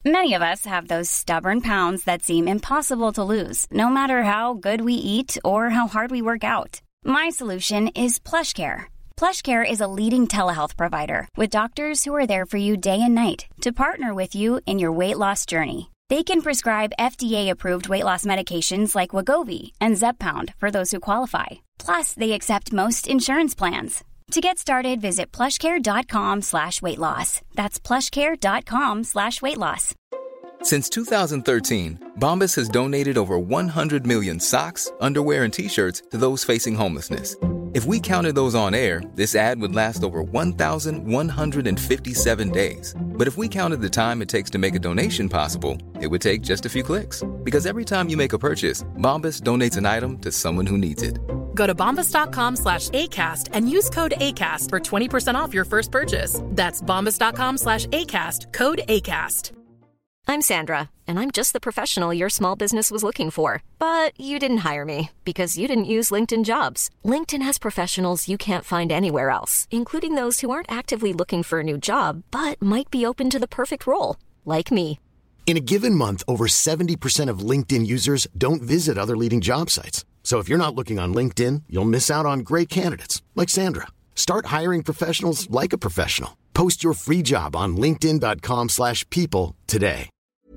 Many of us have those stubborn pounds that seem impossible to lose, no matter how good we eat or how hard we work out. My solution is PlushCare. PlushCare is a leading telehealth provider with doctors who are there for you day and night to partner with you in your weight loss journey. They can prescribe FDA-approved weight loss medications like Wegovy and Zepbound for those who qualify. Plus, they accept most insurance plans. To get started, visit plushcare.com/weightloss. That's plushcare.com/weightloss. Since 2013, Bombas has donated over 100 million socks, underwear, and T-shirts to those facing homelessness. If we counted those on air, this ad would last over 1,157 days. But if we counted the time it takes to make a donation possible, it would take just a few clicks. Because every time you make a purchase, Bombas donates an item to someone who needs it. Go to bombas.com/ACAST and use code ACAST for 20% off your first purchase. That's bombas.com/ACAST, code ACAST. I'm Sandra, and I'm just the professional your small business was looking for. But you didn't hire me because you didn't use LinkedIn Jobs. LinkedIn has professionals you can't find anywhere else, including those who aren't actively looking for a new job, but might be open to the perfect role, like me. In a given month, over 70% of LinkedIn users don't visit other leading job sites. So if you're not looking on LinkedIn, you'll miss out on great candidates, like Sandra. Start hiring professionals like a professional. Post your free job on linkedin.com/people today.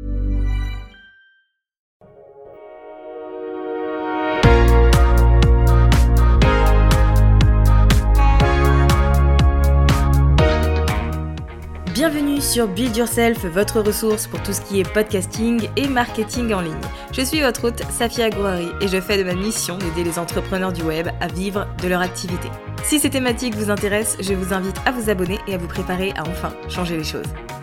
Bienvenue sur Build Yourself, votre ressource pour tout ce qui est podcasting et marketing en ligne. Je suis votre hôte, Safia Gouari, et je fais de ma mission d'aider les entrepreneurs du web à vivre de leur activité. Si ces thématiques vous intéressent, je vous invite à vous abonner et à vous préparer à enfin changer les choses.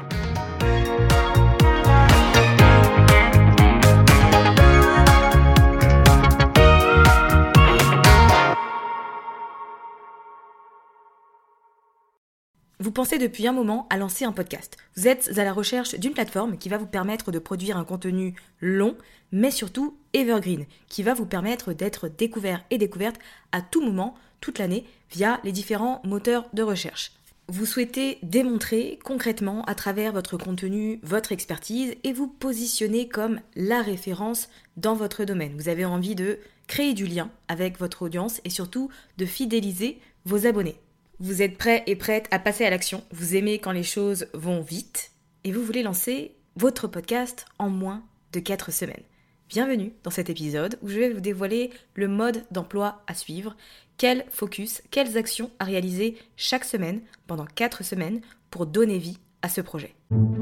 Vous pensez depuis un moment à lancer un podcast. Vous êtes à la recherche d'une plateforme qui va vous permettre de produire un contenu long, mais surtout evergreen, qui va vous permettre d'être découvert et découverte à tout moment, toute l'année, via les différents moteurs de recherche. Vous souhaitez démontrer concrètement à travers votre contenu, votre expertise et vous positionner comme la référence dans votre domaine. Vous avez envie de créer du lien avec votre audience et surtout de fidéliser vos abonnés. Vous êtes prêt et prête à passer à l'action, vous aimez quand les choses vont vite et vous voulez lancer votre podcast en moins de 4 semaines. Bienvenue dans cet épisode où je vais vous dévoiler le mode d'emploi à suivre, quel focus, quelles actions à réaliser chaque semaine pendant 4 semaines pour donner vie à ce projet.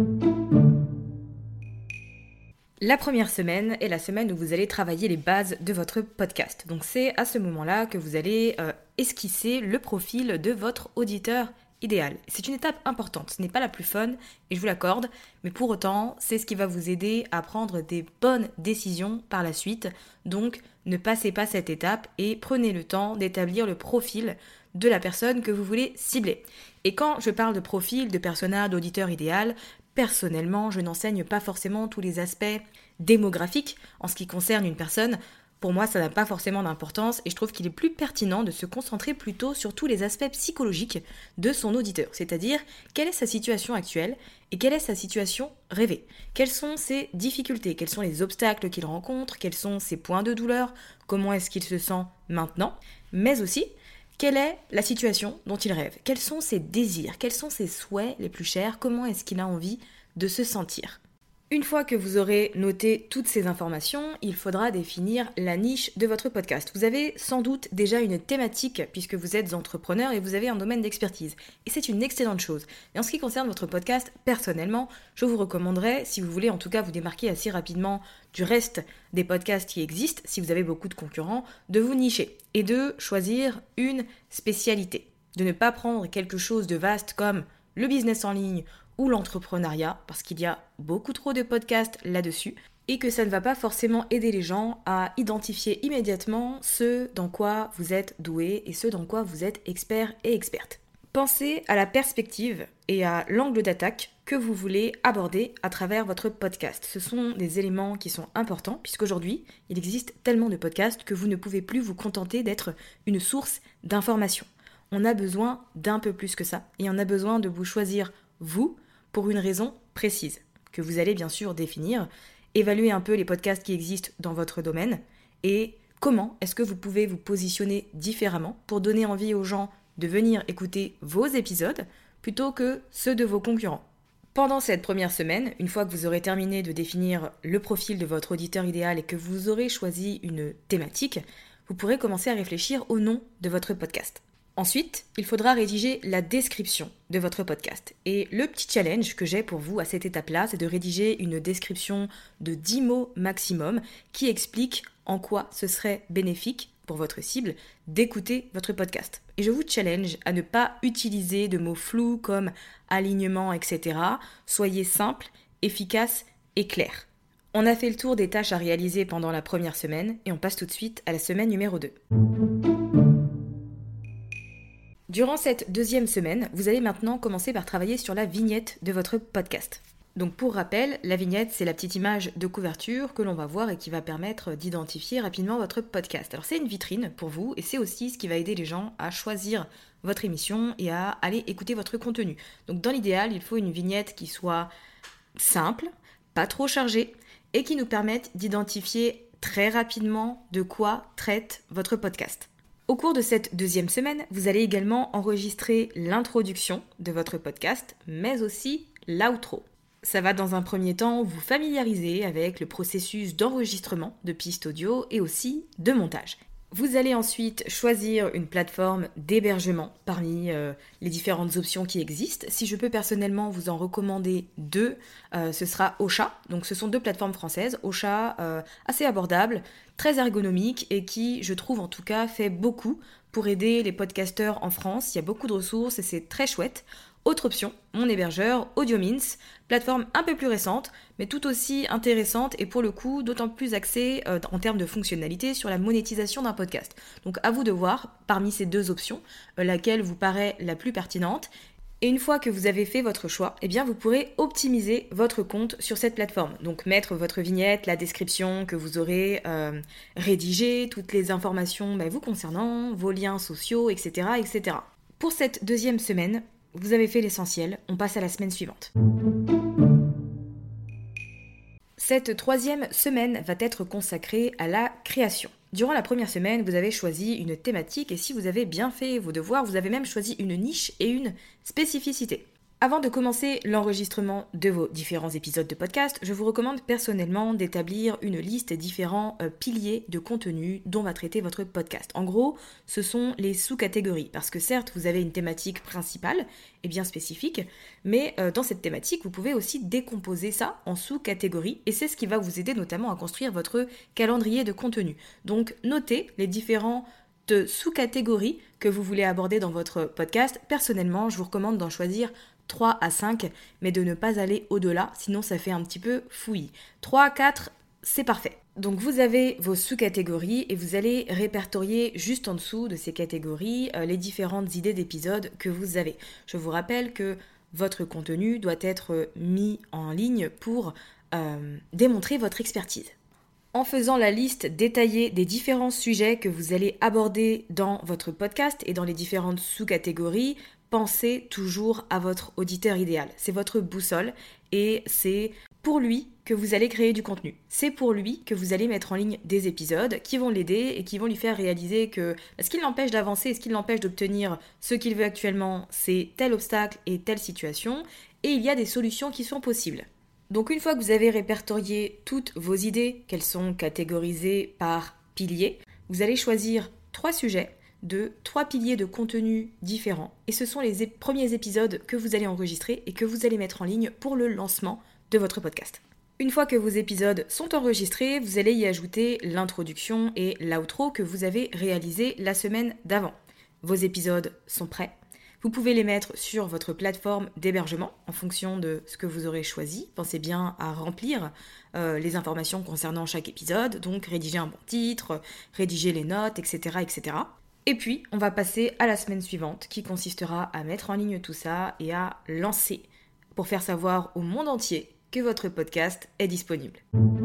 La première semaine est la semaine où vous allez travailler les bases de votre podcast. Donc c'est à ce moment-là que vous allez esquisser le profil de votre auditeur idéal. C'est une étape importante, ce n'est pas la plus fun et je vous l'accorde, mais pour autant c'est ce qui va vous aider à prendre des bonnes décisions par la suite. Donc ne passez pas cette étape et prenez le temps d'établir le profil de la personne que vous voulez cibler. Et quand je parle de profil, de persona, d'auditeur idéal, personnellement, je n'enseigne pas forcément tous les aspects démographiques en ce qui concerne une personne. Pour moi, ça n'a pas forcément d'importance et je trouve qu'il est plus pertinent de se concentrer plutôt sur tous les aspects psychologiques de son auditeur, c'est-à-dire quelle est sa situation actuelle et quelle est sa situation rêvée. Quelles sont ses difficultés, quels sont les obstacles qu'il rencontre, quels sont ses points de douleur, comment est-ce qu'il se sent maintenant, mais aussi quelle est la situation dont il rêve, quels sont ses désirs, quels sont ses souhaits les plus chers, comment est-ce qu'il a envie de se sentir. Une fois que vous aurez noté toutes ces informations, il faudra définir la niche de votre podcast. Vous avez sans doute déjà une thématique puisque vous êtes entrepreneur et vous avez un domaine d'expertise. Et c'est une excellente chose. Mais en ce qui concerne votre podcast, personnellement, je vous recommanderais, si vous voulez en tout cas vous démarquer assez rapidement du reste des podcasts qui existent, si vous avez beaucoup de concurrents, de vous nicher et de choisir une spécialité. De ne pas prendre quelque chose de vaste comme le business en ligne ou l'entrepreneuriat, parce qu'il y a beaucoup trop de podcasts là-dessus, et que ça ne va pas forcément aider les gens à identifier immédiatement ce dans quoi vous êtes doué et ce dans quoi vous êtes expert et experte. Pensez à la perspective et à l'angle d'attaque que vous voulez aborder à travers votre podcast. Ce sont des éléments qui sont importants, puisqu'aujourd'hui, il existe tellement de podcasts que vous ne pouvez plus vous contenter d'être une source d'information. On a besoin d'un peu plus que ça, et on a besoin de vous choisir vous, pour une raison précise. que vous allez bien sûr définir, évaluer un peu les podcasts qui existent dans votre domaine et comment est-ce que vous pouvez vous positionner différemment pour donner envie aux gens de venir écouter vos épisodes plutôt que ceux de vos concurrents. Pendant cette première semaine, une fois que vous aurez terminé de définir le profil de votre auditeur idéal et que vous aurez choisi une thématique, vous pourrez commencer à réfléchir au nom de votre podcast. Ensuite, il faudra rédiger la description de votre podcast. Et le petit challenge que j'ai pour vous à cette étape-là, c'est de rédiger une description de 10 mots maximum qui explique en quoi ce serait bénéfique pour votre cible d'écouter votre podcast. Et je vous challenge à ne pas utiliser de mots flous comme alignement, etc. Soyez simple, efficace et clair. On a fait le tour des tâches à réaliser pendant la première semaine et on passe tout de suite à la semaine numéro 2. Durant cette deuxième semaine, vous allez maintenant commencer par travailler sur la vignette de votre podcast. Donc pour rappel, la vignette, c'est la petite image de couverture que l'on va voir et qui va permettre d'identifier rapidement votre podcast. Alors c'est une vitrine pour vous et c'est aussi ce qui va aider les gens à choisir votre émission et à aller écouter votre contenu. Donc dans l'idéal, il faut une vignette qui soit simple, pas trop chargée et qui nous permette d'identifier très rapidement de quoi traite votre podcast. Au cours de cette deuxième semaine, vous allez également enregistrer l'introduction de votre podcast, mais aussi l'outro. Ça va dans un premier temps vous familiariser avec le processus d'enregistrement de pistes audio et aussi de montage. Vous allez ensuite choisir une plateforme d'hébergement parmi les différentes options qui existent. Si je peux personnellement vous en recommander 2, ce sera Ocha. Donc ce sont 2 plateformes françaises. Ocha, assez abordable, très ergonomique et qui, je trouve en tout cas, fait beaucoup pour aider les podcasteurs en France. Il y a beaucoup de ressources et c'est très chouette. Autre option, mon hébergeur, AudioMints, plateforme un peu plus récente, mais tout aussi intéressante et pour le coup d'autant plus axée en termes de fonctionnalité sur la monétisation d'un podcast. Donc à vous de voir, parmi ces 2 options, laquelle vous paraît la plus pertinente. Et une fois que vous avez fait votre choix, eh bien vous pourrez optimiser votre compte sur cette plateforme. Donc mettre votre vignette, la description que vous aurez rédigée, toutes les informations vous concernant, vos liens sociaux, etc., etc. Pour cette deuxième semaine, vous avez fait l'essentiel, on passe à la semaine suivante. Cette troisième semaine va être consacrée à la création. Durant la première semaine, vous avez choisi une thématique et si vous avez bien fait vos devoirs, vous avez même choisi une niche et une spécificité. Avant de commencer l'enregistrement de vos différents épisodes de podcast, je vous recommande personnellement d'établir une liste des différents piliers de contenu dont va traiter votre podcast. En gros, ce sont les sous-catégories, parce que certes, vous avez une thématique principale et bien spécifique, mais dans cette thématique, vous pouvez aussi décomposer ça en sous-catégories, et c'est ce qui va vous aider notamment à construire votre calendrier de contenu. Donc, notez les différents sous-catégories que vous voulez aborder dans votre podcast. Personnellement, je vous recommande d'en choisir 3 à 5, mais de ne pas aller au-delà, sinon ça fait un petit peu fouillis. 3 à 4, c'est parfait. Donc vous avez vos sous-catégories et vous allez répertorier juste en dessous de ces catégories les différentes idées d'épisodes que vous avez. Je vous rappelle que votre contenu doit être mis en ligne pour démontrer votre expertise. En faisant la liste détaillée des différents sujets que vous allez aborder dans votre podcast et dans les différentes sous-catégories, pensez toujours à votre auditeur idéal. C'est votre boussole et c'est pour lui que vous allez créer du contenu. C'est pour lui que vous allez mettre en ligne des épisodes qui vont l'aider et qui vont lui faire réaliser que ce qui l'empêche d'avancer, ce qui l'empêche d'obtenir ce qu'il veut actuellement, c'est tel obstacle et telle situation, et il y a des solutions qui sont possibles. Donc une fois que vous avez répertorié toutes vos idées, qu'elles sont catégorisées par piliers, vous allez choisir 3 sujets de 3 piliers de contenu différents. Et ce sont les premiers épisodes que vous allez enregistrer et que vous allez mettre en ligne pour le lancement de votre podcast. Une fois que vos épisodes sont enregistrés, vous allez y ajouter l'introduction et l'outro que vous avez réalisé la semaine d'avant. Vos épisodes sont prêts. Vous pouvez les mettre sur votre plateforme d'hébergement en fonction de ce que vous aurez choisi. Pensez bien à remplir les informations concernant chaque épisode, donc rédiger un bon titre, rédiger les notes, etc., etc. Et puis, on va passer à la semaine suivante qui consistera à mettre en ligne tout ça et à lancer pour faire savoir au monde entier que votre podcast est disponible.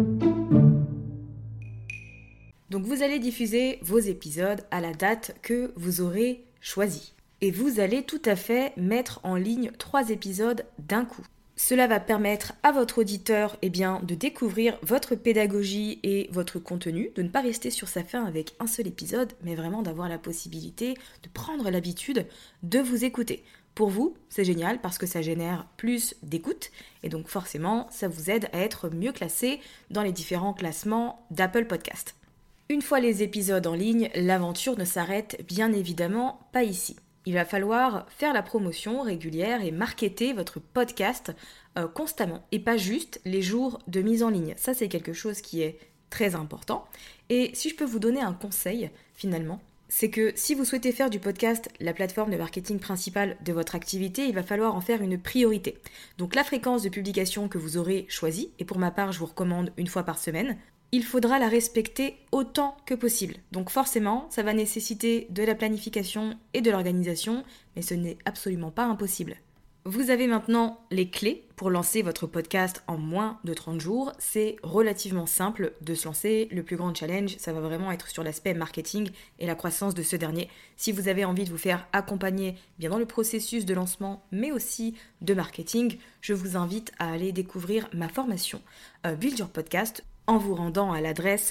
Donc vous allez diffuser vos épisodes à la date que vous aurez choisie. Et vous allez tout à fait mettre en ligne 3 épisodes d'un coup. Cela va permettre à votre auditeur de découvrir votre pédagogie et votre contenu, de ne pas rester sur sa faim avec un seul épisode, mais vraiment d'avoir la possibilité de prendre l'habitude de vous écouter. Pour vous, c'est génial parce que ça génère plus d'écoute et donc forcément, ça vous aide à être mieux classé dans les différents classements d'Apple Podcast. Une fois les épisodes en ligne, l'aventure ne s'arrête bien évidemment pas ici. Il va falloir faire la promotion régulière et marketer votre podcast constamment et pas juste les jours de mise en ligne. Ça, c'est quelque chose qui est très important. Et si je peux vous donner un conseil, finalement, c'est que si vous souhaitez faire du podcast la plateforme de marketing principale de votre activité, il va falloir en faire une priorité. Donc la fréquence de publication que vous aurez choisie, et pour ma part, je vous recommande 1 fois par semaine, il faudra la respecter autant que possible. Donc forcément, ça va nécessiter de la planification et de l'organisation, mais ce n'est absolument pas impossible. Vous avez maintenant les clés pour lancer votre podcast en moins de 30 jours. C'est relativement simple de se lancer. Le plus grand challenge, ça va vraiment être sur l'aspect marketing et la croissance de ce dernier. Si vous avez envie de vous faire accompagner bien dans le processus de lancement, mais aussi de marketing, je vous invite à aller découvrir ma formation Build Your Podcast en vous rendant à l'adresse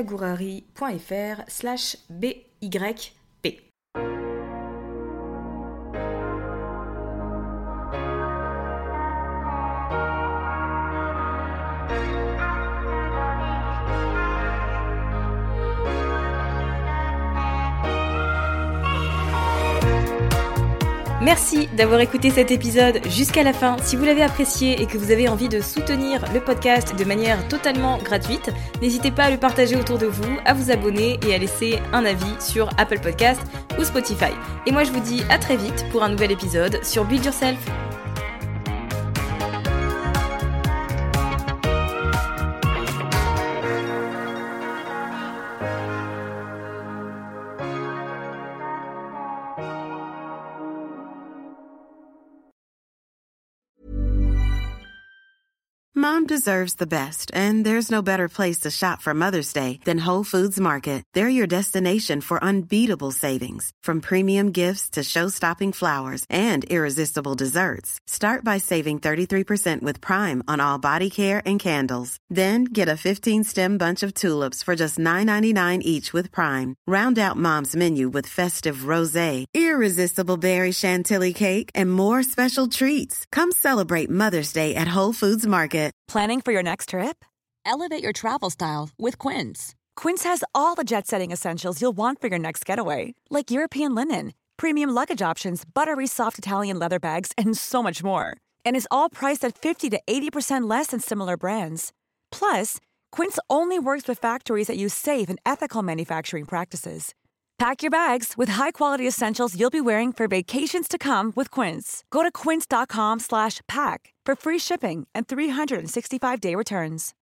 safiagourari.fr/BYP. Merci d'avoir écouté cet épisode jusqu'à la fin. Si vous l'avez apprécié et que vous avez envie de soutenir le podcast de manière totalement gratuite, n'hésitez pas à le partager autour de vous, à vous abonner et à laisser un avis sur Apple Podcast ou Spotify. Et moi je vous dis à très vite pour un nouvel épisode sur Build Yourself. Mom deserves the best, and there's no better place to shop for Mother's Day than Whole Foods Market. They're your destination for unbeatable savings, from premium gifts to show-stopping flowers and irresistible desserts. Start by saving 33% with Prime on all body care and candles. Then get a 15-stem bunch of tulips for just $9.99 each with Prime. Round out Mom's menu with festive rosé, irresistible berry chantilly cake, and more special treats. Come celebrate Mother's Day at Whole Foods Market. Planning for your next trip? Elevate your travel style with Quince. Quince has all the jet-setting essentials you'll want for your next getaway, like European linen, premium luggage options, buttery soft Italian leather bags, and so much more. And is all priced at 50 to 80% less than similar brands. Plus, Quince only works with factories that use safe and ethical manufacturing practices. Pack your bags with high-quality essentials you'll be wearing for vacations to come with Quince. Go to quince.com/pack for free shipping and 365-day returns.